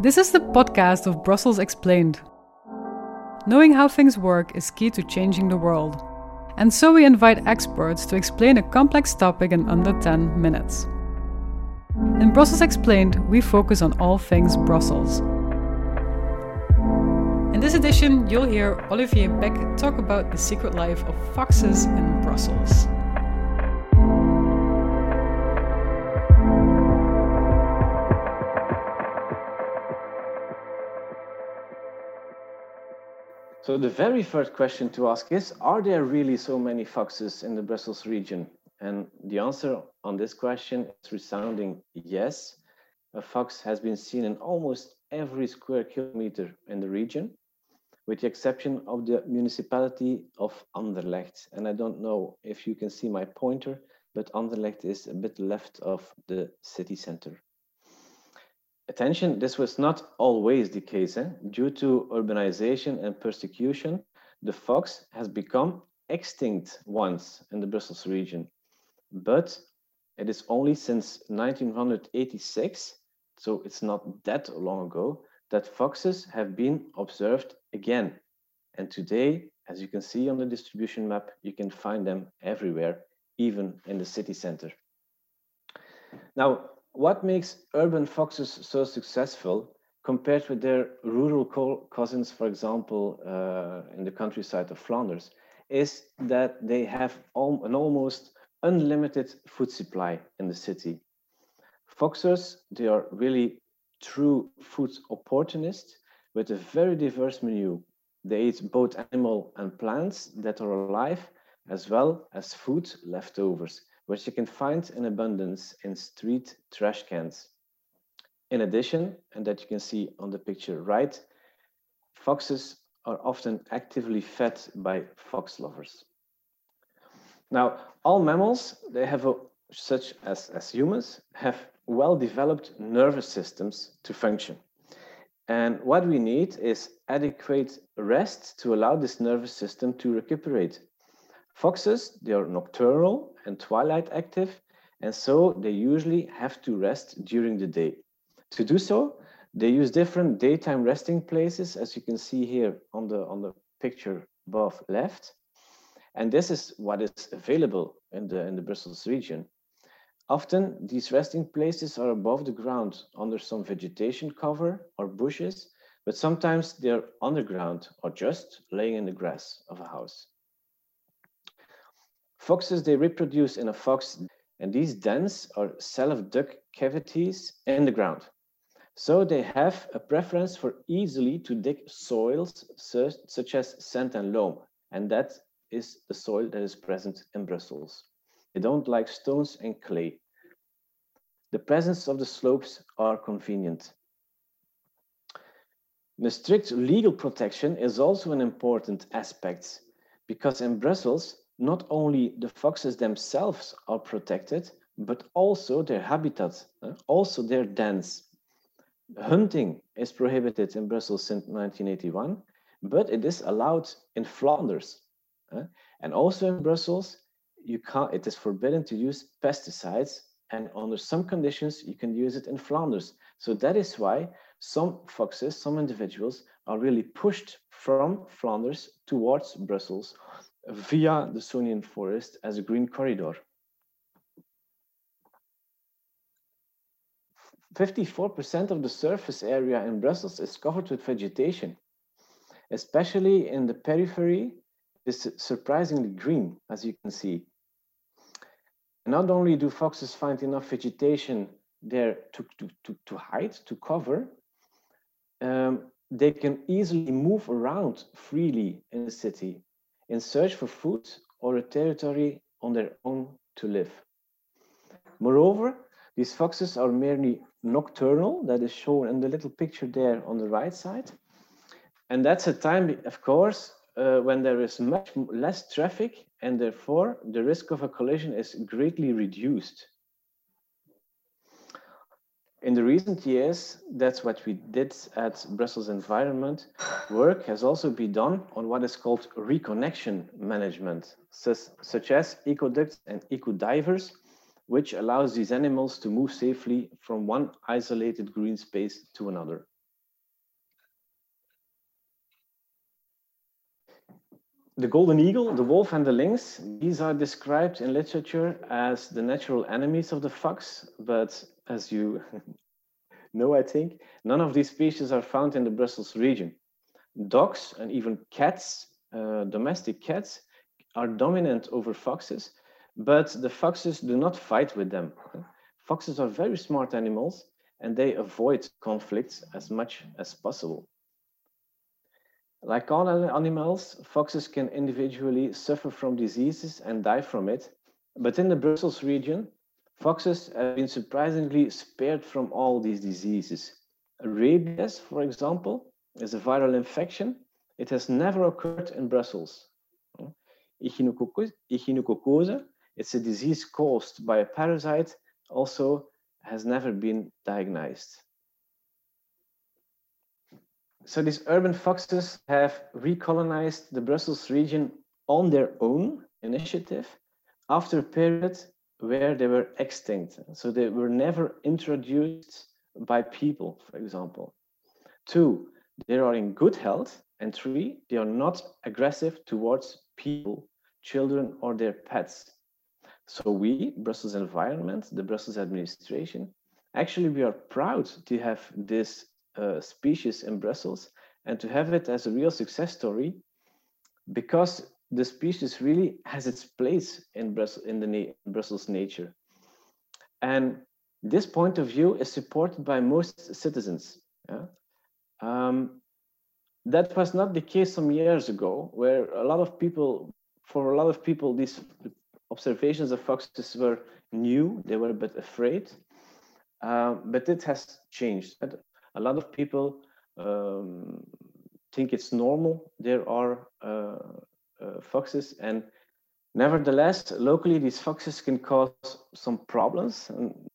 This is the podcast of Brussels Explained. Knowing how things work is key to changing the world. And so we invite experts to explain a complex topic in under 10 minutes. In Brussels Explained, we focus on all things Brussels. In this edition, you'll hear Olivier Beck talk about the secret life of foxes in Brussels. So the very first question to ask is, are there really so many foxes in the Brussels region? And the answer on this question is resounding yes. A fox has been seen in almost every square kilometer in the region, with the exception of the municipality of Anderlecht. And I don't know if you can see my pointer, but Anderlecht is a bit left of the city center. Attention, this was not always the case. Due to urbanization and persecution, the fox has become extinct once in the Brussels region. But it is only since 1986, so it's not that long ago, that foxes have been observed again. And today, as you can see on the distribution map, you can find them everywhere, even in the city center. Now, what makes urban foxes so successful compared with their rural cousins, for example, in the countryside of Flanders, is that they have an almost unlimited food supply in the city. Foxes, they are really true food opportunists with a very diverse menu. They eat both animal and plants that are alive, as well as food leftovers, which you can find in abundance in street trash cans. In addition, and that you can see on the picture right, foxes are often actively fed by fox lovers. Now, all mammals, they have such as humans, have well-developed nervous systems to function. And what we need is adequate rest to allow this nervous system to recuperate. Foxes, they are nocturnal and twilight active, and so they usually have to rest during the day. To do so, they use different daytime resting places, as you can see here on the picture above left. And this is what is available in the Brussels region. Often, these resting places are above the ground under some vegetation cover or bushes, but sometimes they're underground or just laying in the grass of a house. Foxes, they reproduce in a fox, and these dens are self-dug cavities in the ground. So they have a preference for easily to dig soils such as sand and loam, and that is the soil that is present in Brussels. They don't like stones and clay. The presence of the slopes are convenient. The strict legal protection is also an important aspect, because in Brussels, not only the foxes themselves are protected, but also their habitat, also their dens. Hunting is prohibited in Brussels since 1981, but it is allowed in Flanders. And also in Brussels, it is forbidden to use pesticides, and under some conditions, you can use it in Flanders. So that is why some foxes, some individuals, are really pushed from Flanders towards Brussels via the Sonian forest as a green corridor. 54% of the surface area in Brussels is covered with vegetation. Especially in the periphery, it's surprisingly green, as you can see. Not only do foxes find enough vegetation there to hide, to cover, they can easily move around freely in the city in search for food or a territory on their own to live. Moreover, these foxes are merely nocturnal, that is shown in the little picture there on the right side. And that's a time, of course, when there is much less traffic, and therefore the risk of a collision is greatly reduced. In the recent years, that's what we did at Brussels Environment. Work has also been done on what is called reconnection management, such as ecoducts and ecodivers, which allows these animals to move safely from one isolated green space to another. The golden eagle, the wolf, and the lynx, these are described in literature as the natural enemies of the fox, but as you know, I think, none of these species are found in the Brussels region. Dogs and even cats, domestic cats, are dominant over foxes, but the foxes do not fight with them. Foxes are very smart animals, and they avoid conflicts as much as possible. Like all animals, foxes can individually suffer from diseases and die from it, but in the Brussels region, foxes have been surprisingly spared from all these diseases. Rabies, for example, is a viral infection. It has never occurred in Brussels. Echinococcosis, it's a disease caused by a parasite, also has never been diagnosed. So these urban foxes have recolonized the Brussels region on their own initiative after a period where they were extinct. So they were never introduced by people, for example. 2, they are in good health. And 3, they are not aggressive towards people, children, or their pets. So we, Brussels Environment, the Brussels administration, actually we are proud to have this species in Brussels and to have it as a real success story, because the species really has its place in Brussels nature. And this point of view is supported by most citizens. Yeah? That was not the case some years ago, where for a lot of people, these observations of foxes were new, they were a bit afraid, but it has changed. A lot of people think it's normal. There are foxes, and nevertheless, locally, these foxes can cause some problems.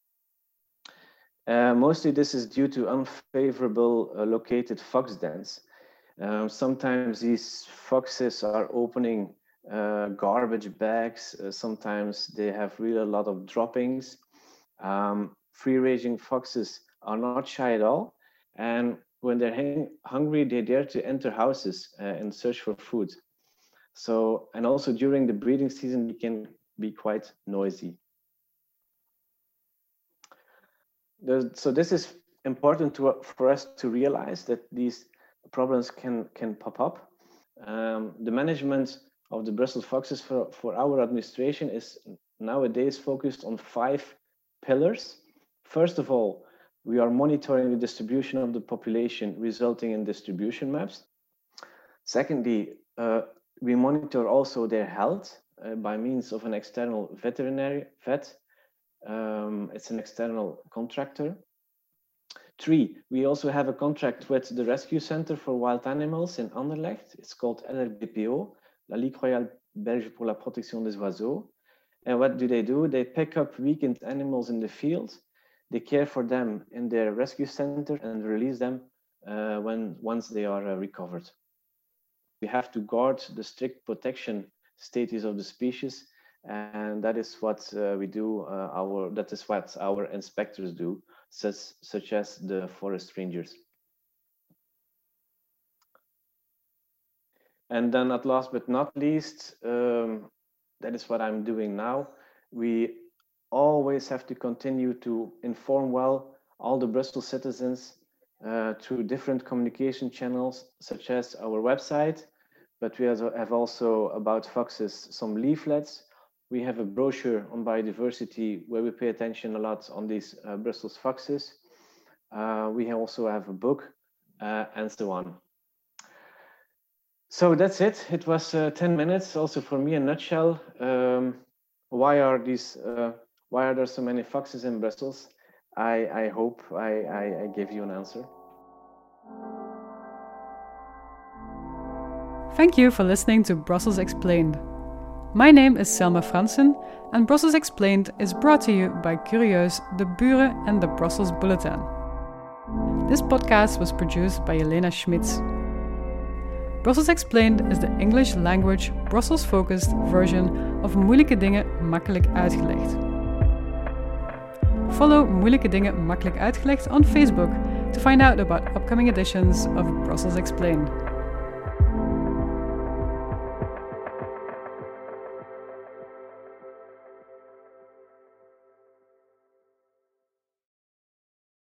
And mostly this is due to unfavorable located fox dens. Sometimes these foxes are opening garbage bags. Sometimes they have really a lot of droppings. Free-ranging foxes are not shy at all. And when they're hungry, they dare to enter houses and search for food. So, and also during the breeding season, they can be quite noisy. So this is important for us to realize, that these problems can pop up. The management of the Brussels foxes for our administration is nowadays focused on 5 pillars. First of all, we are monitoring the distribution of the population, resulting in distribution maps. Secondly, we monitor also their health by means of an external veterinary vet. It's an external contractor. 3, we also have a contract with the Rescue Center for Wild Animals in Anderlecht. It's called LRBPO, La Ligue Royale Belge pour la Protection des Oiseaux. And what do? They pick up weakened animals in the field. They care for them in their rescue center and release them once they are recovered. We have to guard the strict protection status of the species, and that is what we do. That is what our inspectors do, such as the forest rangers. And then, at last but not least, that is what I'm doing now. We always have to continue to inform well all the Brussels citizens through different communication channels, such as our website, but we have also about foxes some leaflets. We have a brochure on biodiversity where we pay attention a lot on these Brussels foxes. We also have a book and so on. So that's it. It was 10 minutes also for me in a nutshell. Why are there so many foxes in Brussels? I hope I gave you an answer. Thank you for listening to Brussels Explained. My name is Selma Fransen, and Brussels Explained is brought to you by Curieus, De Buren, and the Brussels Bulletin. This podcast was produced by Jelena Schmitz. Brussels Explained is the English language, Brussels-focused version of Moeilijke Dingen Makkelijk Uitgelegd. Follow Moeilijke Dingen Makkelijk Uitgelegd on Facebook to find out about upcoming editions of Brussels Explained.